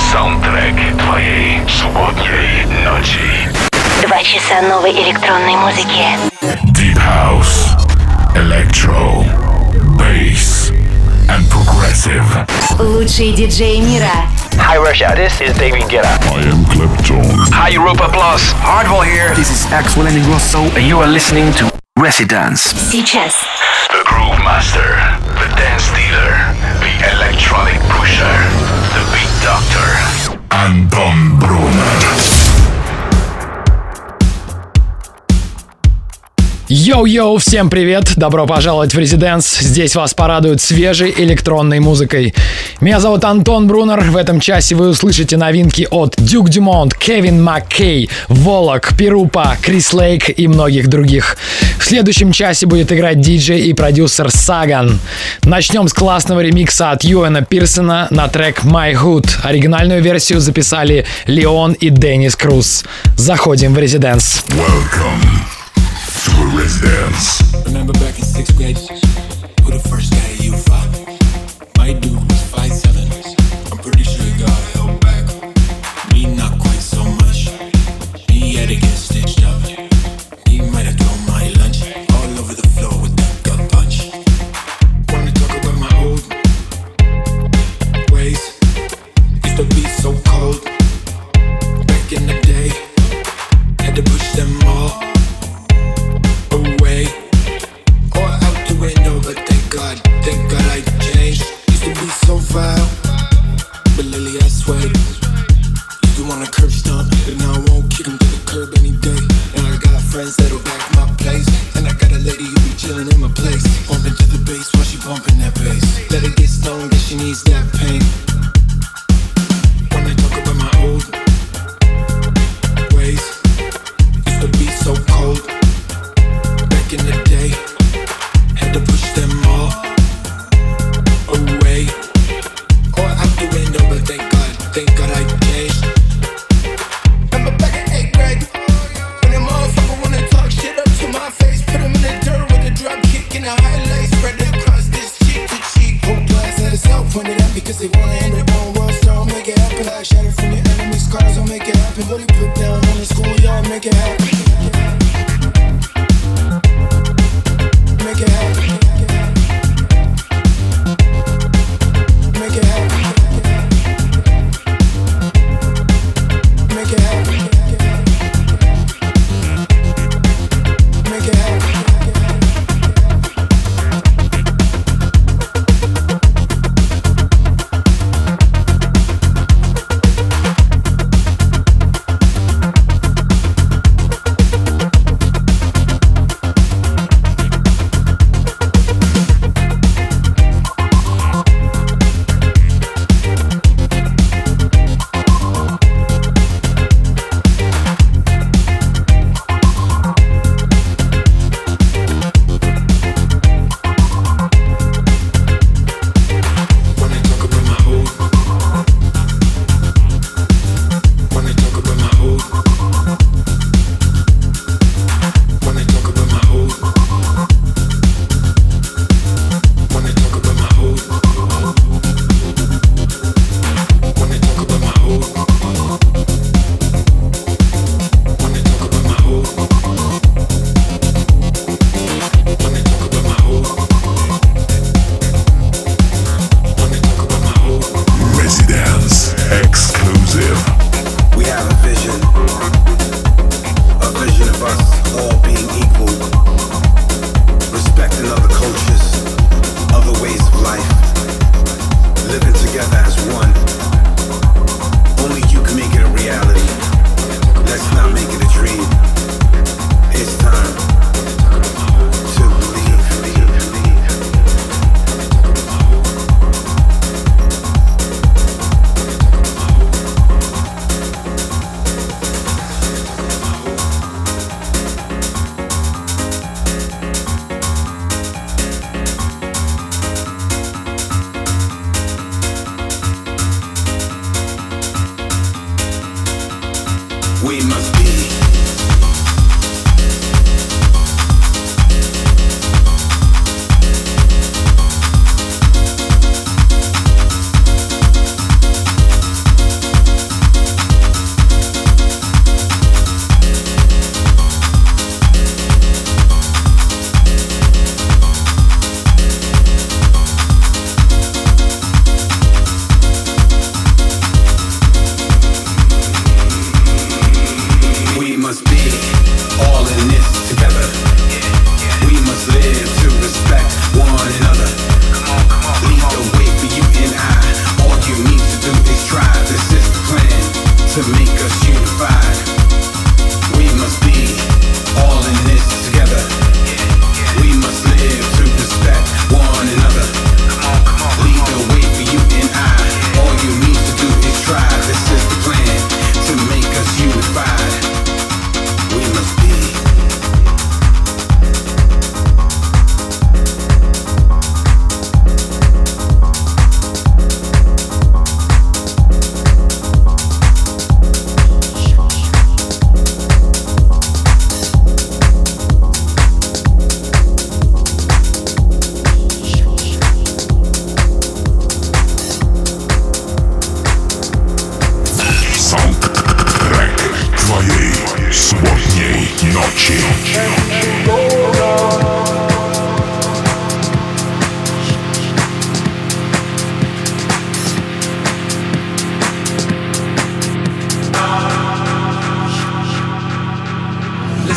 Саундтрек твоей субботней ночи. 2 часа новой электронной музыки. Deep House, Electro, Bass and Progressive. Лучшие диджеи мира. Hi Russia, this is David Guetta. I am Clapton. Hi Europa Plus. Hardwell here. This is Axel Ingrosso and you are listening to Residence. Сейчас. The Groove Master, the Dance Dealer, the Electronic Pusher, the Beat Doctor, Anton Brunner. Йоу-йоу, всем привет! Добро пожаловать в Резиденс. Здесь вас порадуют свежей электронной музыкой. Меня зовут Антон Брунер. В этом часе вы услышите новинки от Duke Dumont, Кевин Маккей, Волок, Пирупа, Крис Лейк и многих других. В следующем часе будет играть диджей и продюсер Саган. Начнем с классного ремикса от Юэна Пирсона на трек My Hood. Оригинальную версию записали Леон и Деннис Круз. Заходим в Резиденс. Welcome to a Residence. Remember back in 6th grade, who the first guy you fought? My dude was 5'7". I'm pretty sure he got held back. Me not quite so much. He had to get stitched up. He might have thrown my lunch all over the floor with that gut punch. Wanna talk about my old ways? Used to be so cold. Back in the day, had to push them all away or out the window, but thank God I changed. Used to be so vile, but lately I swayed. Used to wanna curb stomp, but now I won't kick him to the curb any day. And I got friends that'll back my place, and I got a lady who be chilling in my place, bumping to the bass while she bumping that bass. Let her get stoned, guess she needs that pain. When I talk about my old ways, used to be so cold. Back in the day, had to push them all away or out the window, but thank God I changed. Remember back in 8th grade, when them motherfuckers wanna talk shit up to my face, put them in the dirt with a drug kick and a highlight, spread it across this cheek to cheek. Whole class had itself pointed out because they wanna end their own world, so I'll make it happen. Like shatter from your enemy's scars, I'll make it happen. What he put down on the schoolyard, make it happen. Make it happen. Make it happen. Make it happen. Make it happen.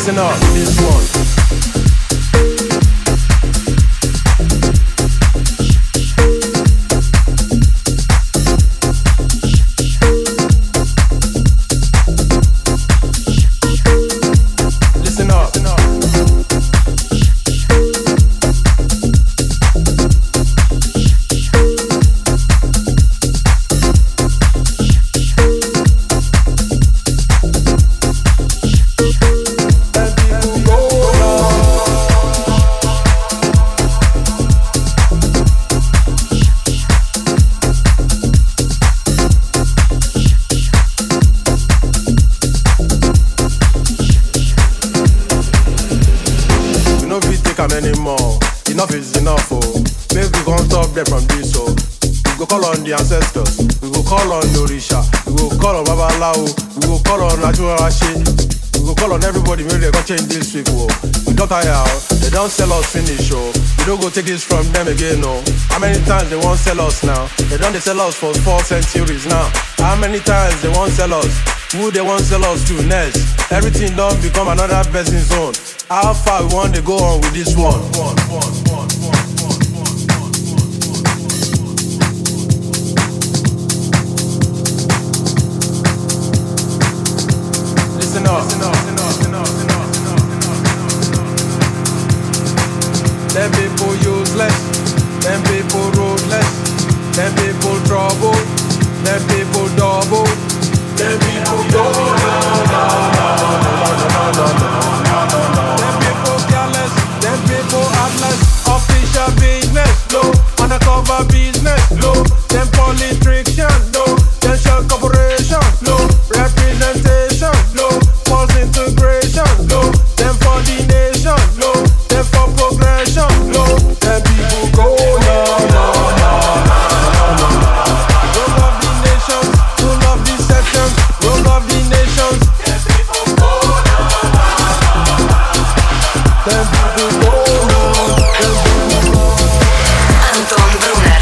Listen up, this one. Anymore. Enough is enough, oh. Maybe we gon' stop them from this, oh. We go call on the ancestors. We go call on Orisha. We go call on Babalawo. We go call on Naturashe. We go call on everybody. Maybe they gon' change this week, oh. We don't tire, they don't sell us finish, oh. We don't go take this from them again, oh. How many times they won't sell us now? They don't sell us for 4 centuries now. How many times they won't sell us? Who they won't sell us to next? Everything don't become another person's own. How far we want to go on with this one? Listen up. Them people useless. Them people ruthless. Them people trouble. Them people double. Them people go Them people careless. Them people heartless. Official business, no. Undercover business, no. Them politicians, no. Them shell corporation, no. Representation, no. False integration, no. Them for the nation, no. Them for progression, no. Them people go Rule of the nations, rule of deception, rule of the nations. Them people go Антон Брунер.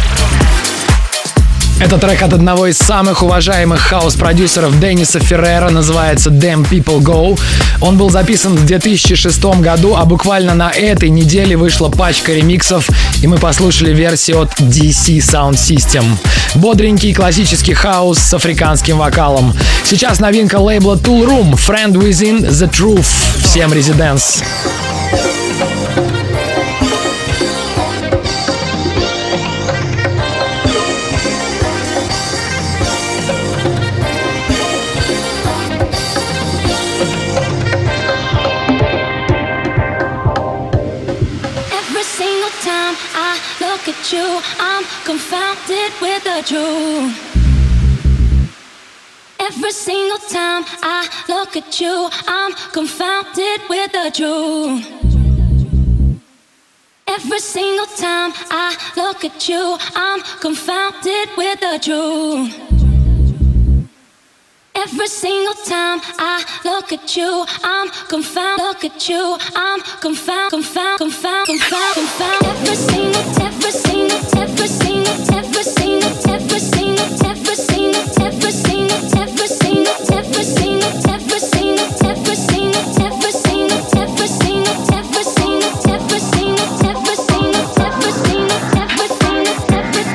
Это трек от одного из самых уважаемых хаус-продюсеров Денниса Феррера, называется Damn People Go. Он был записан в 2006 году, а буквально на этой неделе вышла пачка ремиксов, и мы послушали версию от DC Sound System. Бодренький классический хаус с африканским вокалом. Сейчас новинка лейбла Tool Room, Friend Within the Truth. Всем резиденс. I'm confounded with the truth. Every single time I look at you, I'm confounded with the truth. Every single time I look at you, I'm confounded with the truth. Every single time I look at you, I'm confounded. Look at you, I'm confounded. Every single time. Every single, every single, every single, every single, every single, every single, every single, every single, every single, every single, every single, every single, every single, every single, every single, every single, every single, every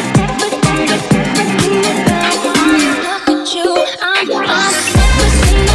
single, every single,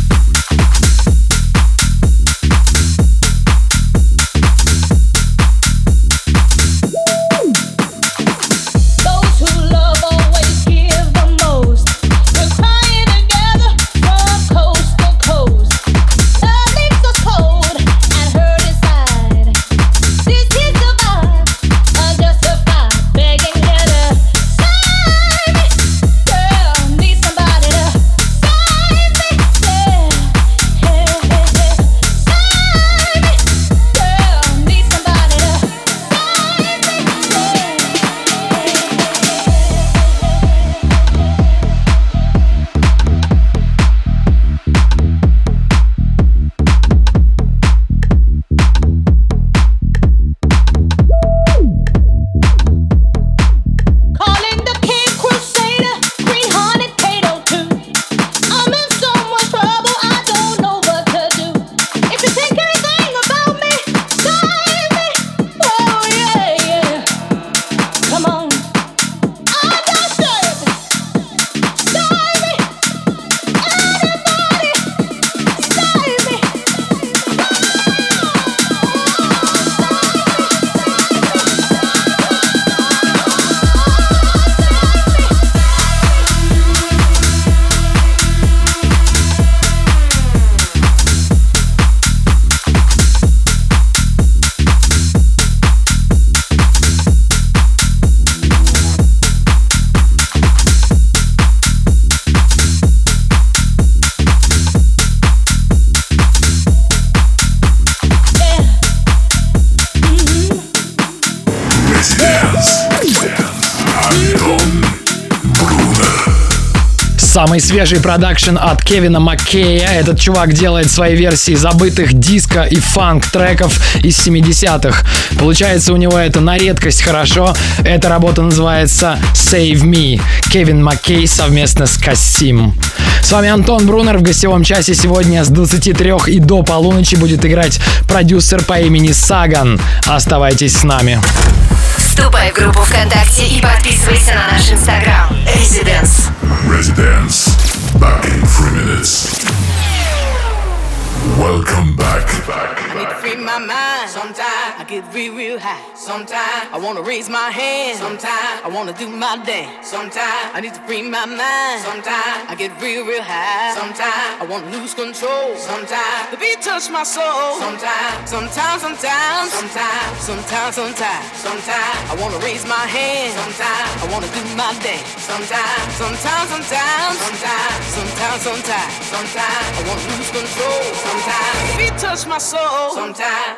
Самый свежий продакшн от Кевина Маккея. Этот чувак делает свои версии забытых диско и фанк-треков из 70-х. Получается у него это на редкость хорошо. Эта работа называется Save Me. Кевин Маккей совместно с Кассим. С вами Антон Брунер. В гостевом часе сегодня с 23 и до полуночи будет играть продюсер по имени Саган. Оставайтесь с нами. Вступай в группу ВКонтакте и подписывайся на наш Инстаграм. Residence. Residence. Back in 3 minutes. Welcome back. I need to free my mind. Sometimes I get real high. Sometimes I wanna raise my hand. Sometimes I wanna do my dance. Sometimes I need to free my mind. Sometimes I get real high. Sometimes I wanna lose control. Sometimes the beat touch my soul. Sometimes I wanna raise my hand. Sometimes I wanna do my dance. Sometimes I wanna lose control. Sometimes the beat touch my soul. Sometimes.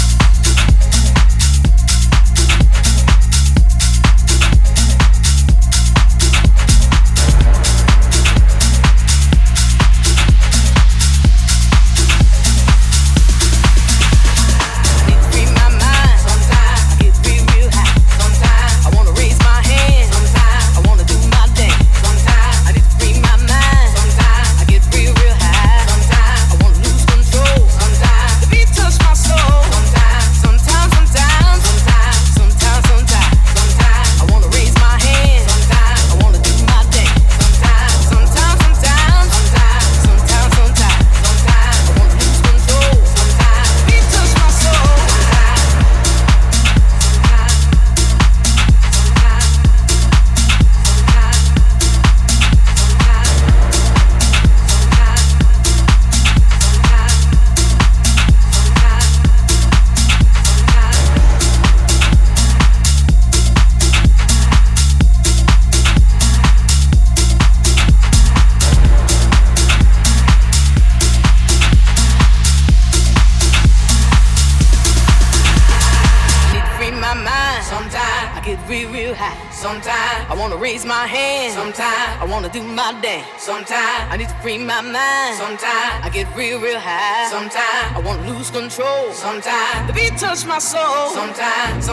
Do my dance. Sometimes I need to free my mind. Sometimes I get real high. Sometimes I wanna lose control. Sometimes the beat touch my soul. Sometimes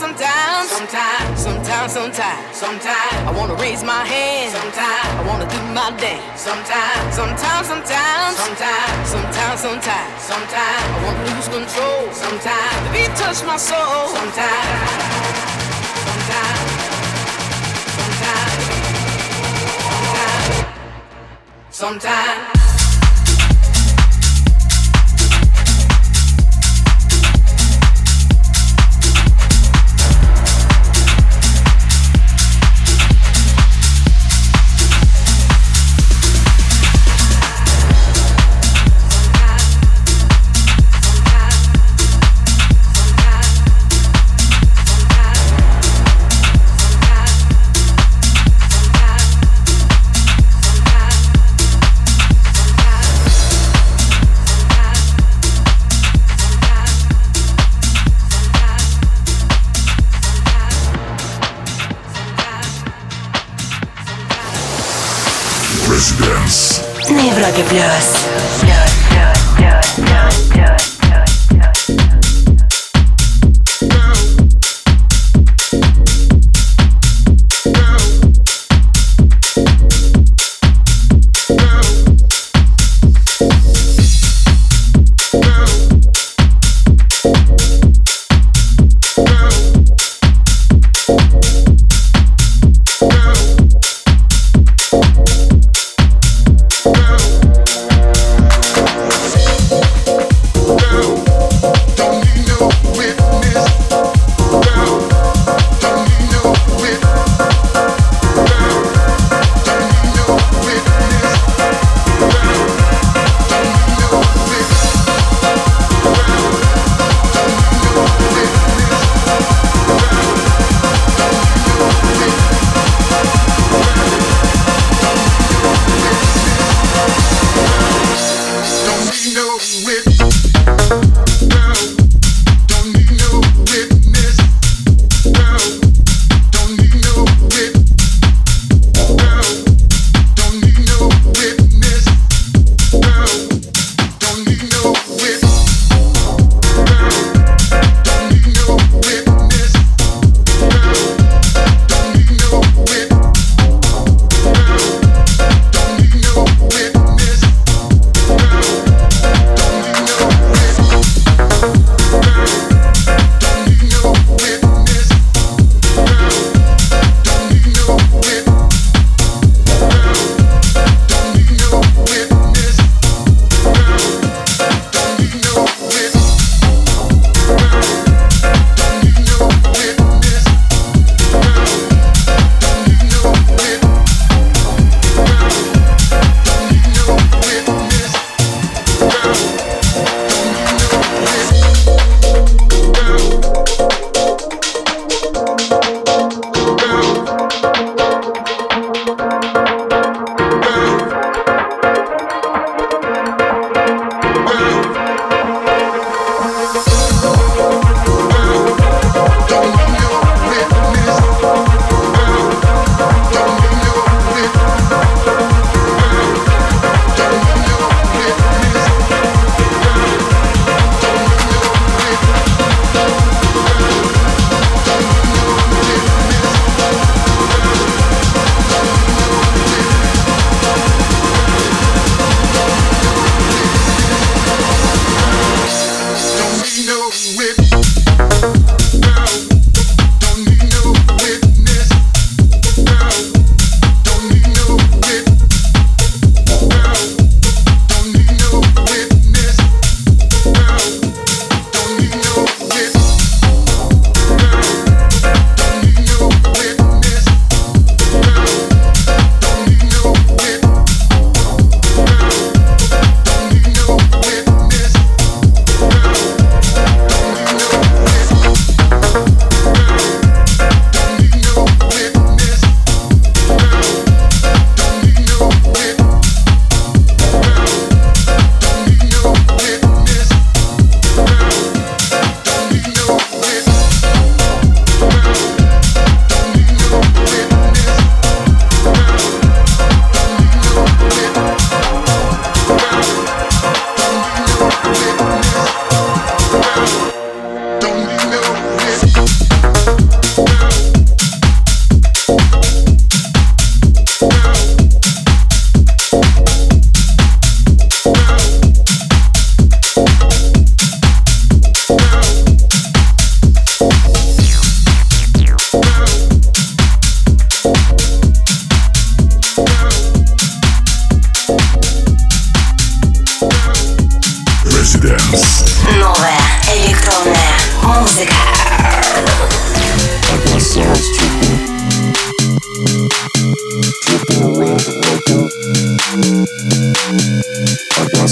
I wanna raise my hand. Sometimes I wanna do my dance. Sometimes I wanna lose control. Sometimes the beat touch my soul. Sometimes. На Европе плюс.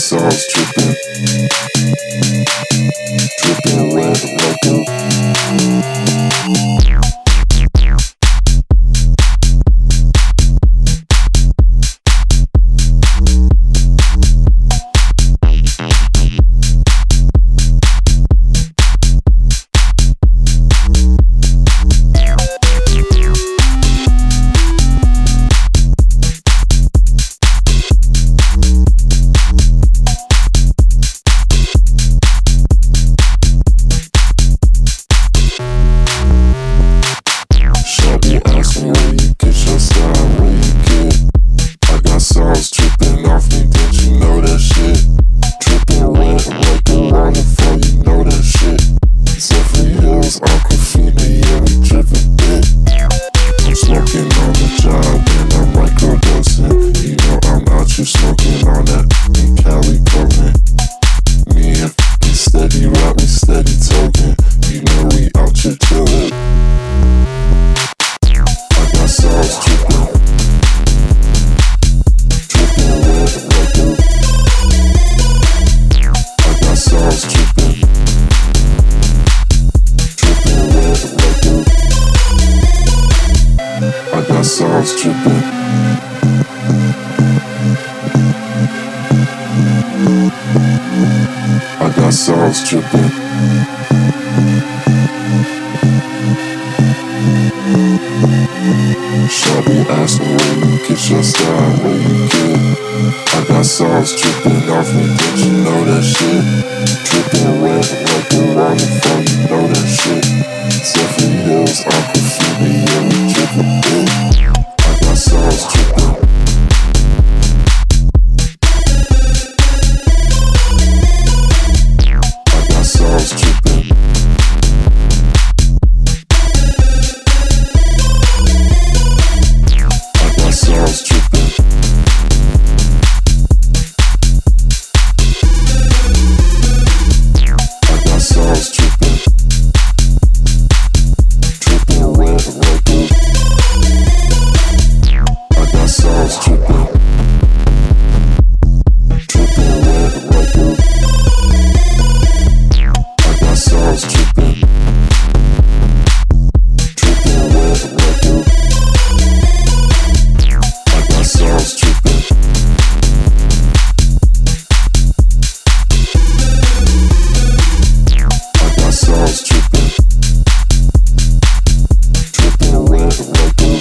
sauce dripping. Dripping wet like a sauce dripping. I got sauce dripping. Shawty asking where you get your style, where you get. I got sauce dripping off me, don't you know that shit? Dripping wet like a waterfall, you know that shit. Zephyr Hills, Aquafina, yeah, we dripping big. I got sauce dripping. I got sauce dripping. I got sauce dripping. I got sauce dripping. Dripping wet like a. I got sauce dripping. Dripping wet like a. I got sauce dripping. Dripping wet like a. I got sauce dripping. I got sauce dripping. Dripping wet like a.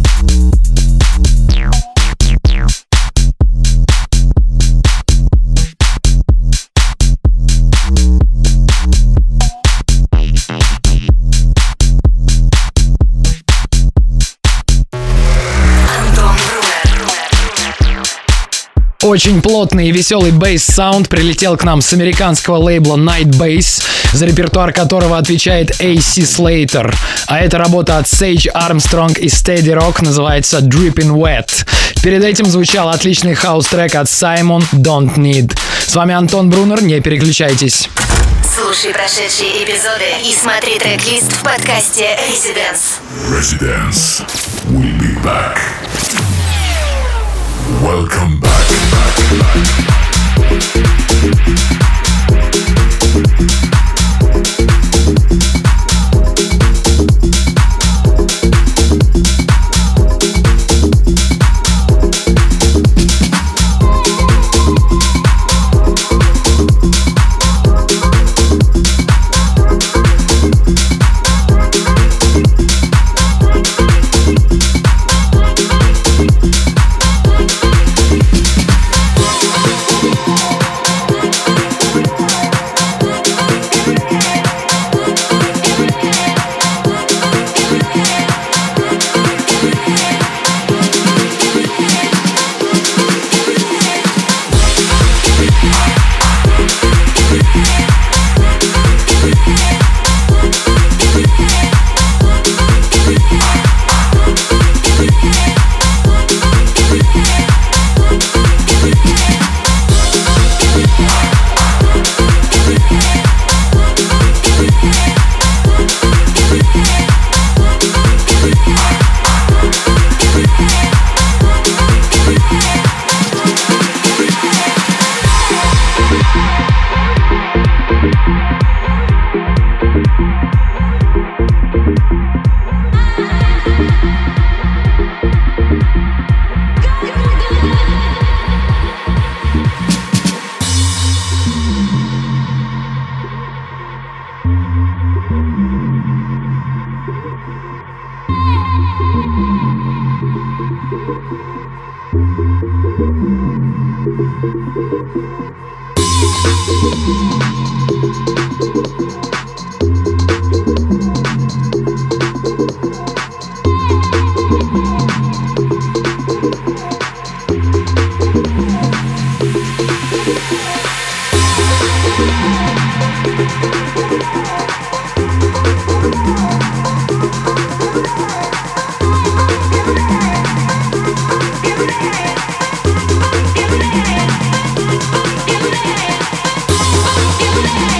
Антон Брунер. Очень плотный и веселый бейс-саунд прилетел к нам с американского лейбла Night Bass, за репертуар которого отвечает AC Slater. А эта работа от Sage Armstrong и Steady Rock называется Dripping Wet. Перед этим звучал отличный хаус-трек от Simon Don't Need. С вами Антон Брунер, не переключайтесь. Слушай прошедшие эпизоды и смотри трек-лист в подкасте Residence. Residence. We'll be back. Welcome back. Give me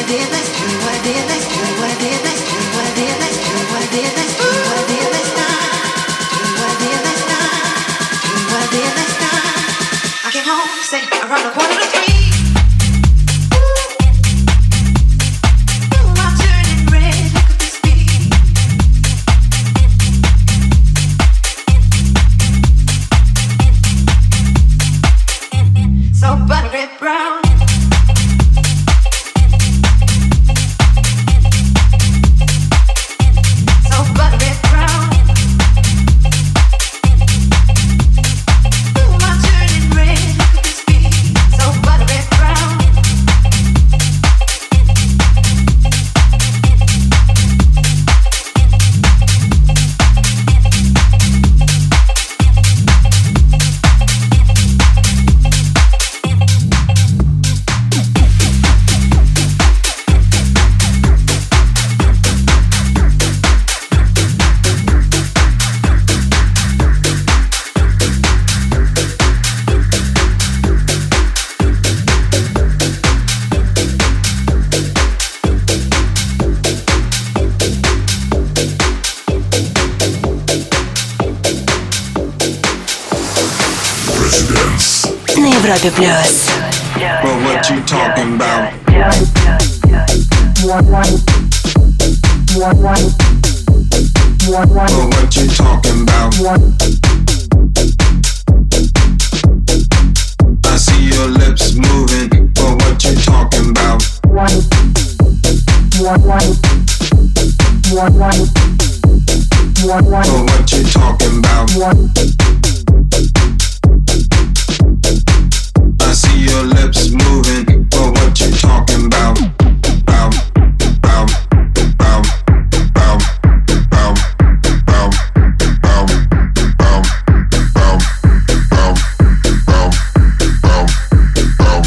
Европе плюс. Well, what you talking about? Well, what you talking about? I see your lips moving. Well, what you talking about? Well, what you talking about? I see your lips moving, but what you talking about? Bow, bow, bow, bow, bow, bow, bow, bow, bow, bow, bow, bow, bow,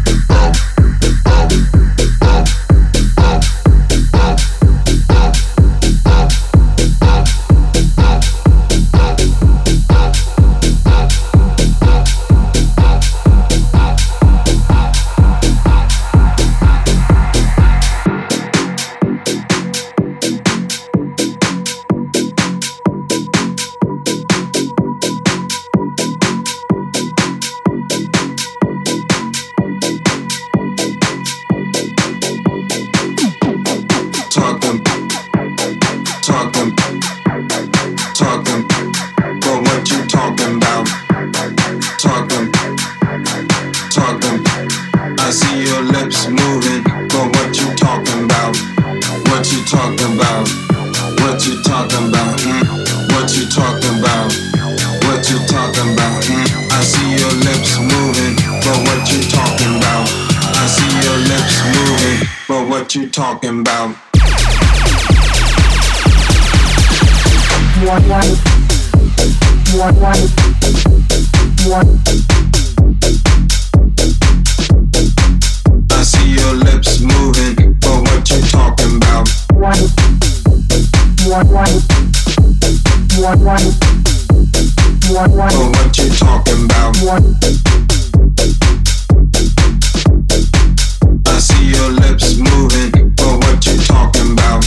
what you talking about? I see your lips moving, but what you talking about? But what you talking about? I see your lips moving, but what you talking about?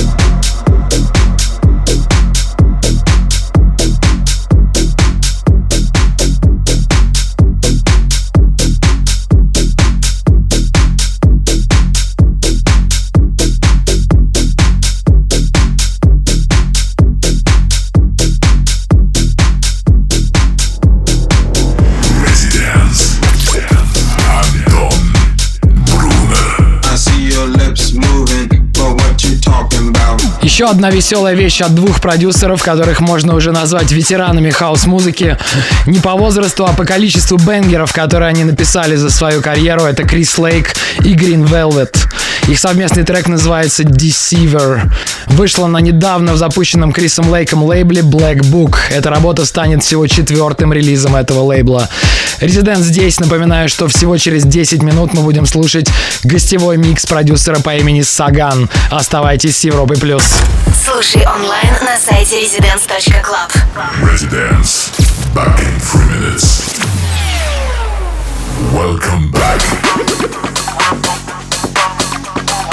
Еще одна веселая вещь от двух продюсеров, которых можно уже назвать ветеранами хаус-музыки. Не по возрасту, а по количеству бенгеров, которые они написали за свою карьеру. Это Крис Лейк и Green Velvet. Их совместный трек называется Deceiver. Вышла на недавно в запущенном Крисом Лейком лейбле Black Book. Эта работа станет всего 4-м релизом этого лейбла. Резидент здесь. Напоминаю, что всего через 10 минут мы будем слушать гостевой микс продюсера по имени Саган. Оставайтесь с Европой плюс. Слушай онлайн на сайте residence.club. Residence. Back in 3 minutes. Welcome back.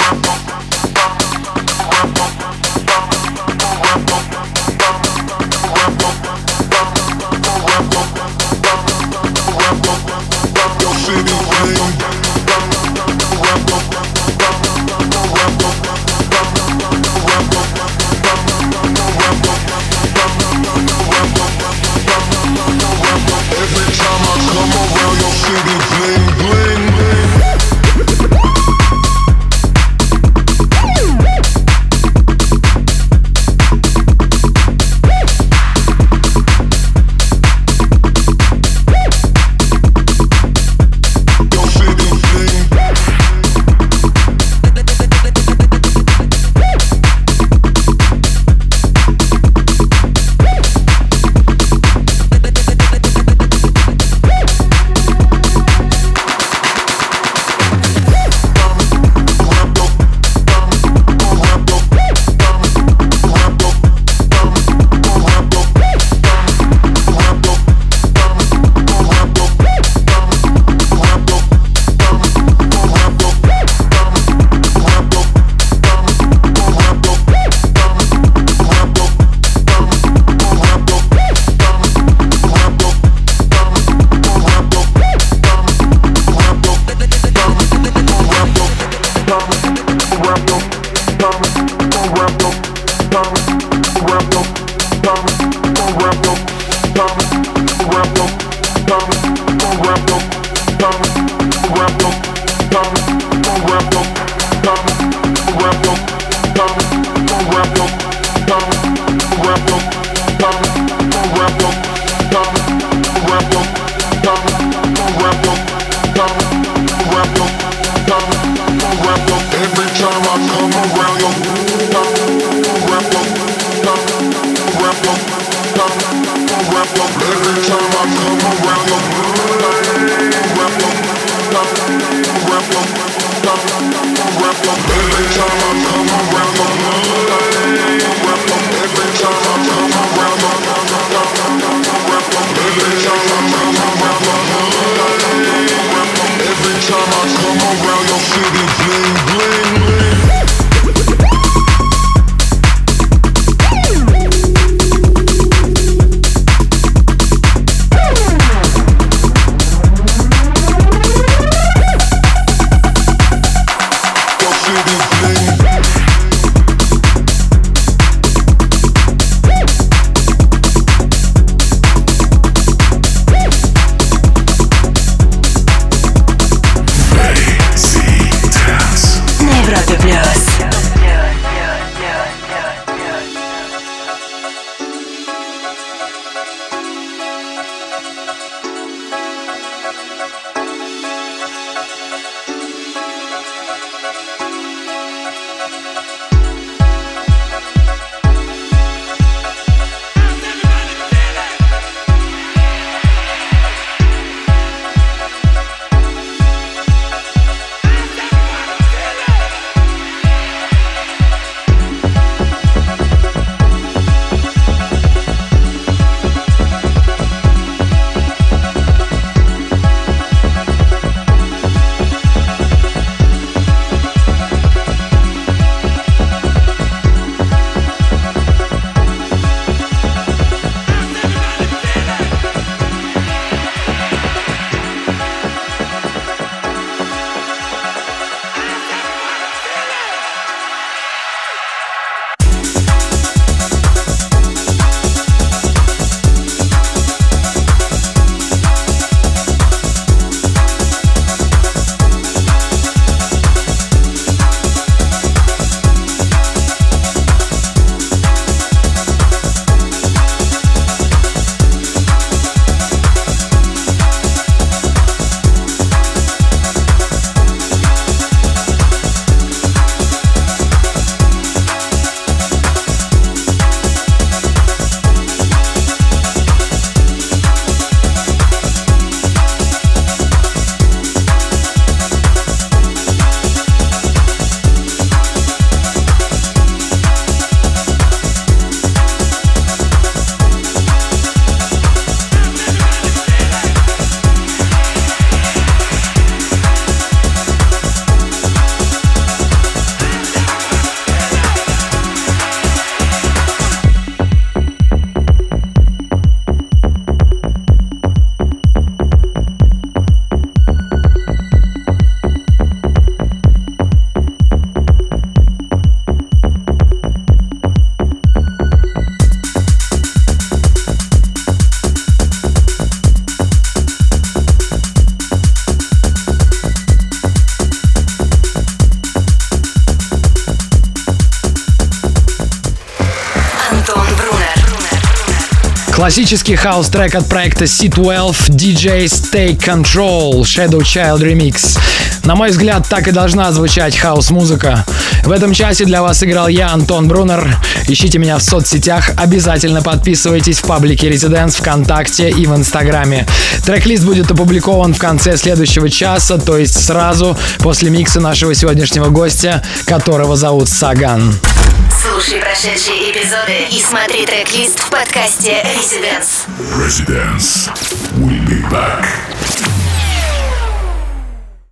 Классический хаус-трек от проекта C12 DJ's Take Control Shadow Child Remix. На мой взгляд, так и должна звучать хаус-музыка. В этом часе для вас играл я, Антон Брунер. Ищите меня в соцсетях, обязательно подписывайтесь в паблике Residence, ВКонтакте и в Инстаграме. Трек-лист будет опубликован в конце следующего часа, то есть сразу после микса нашего сегодняшнего гостя, которого зовут Саган. Слушай прошедшие эпизоды и смотри трек-лист в подкасте Residence. Residence. We'll be back.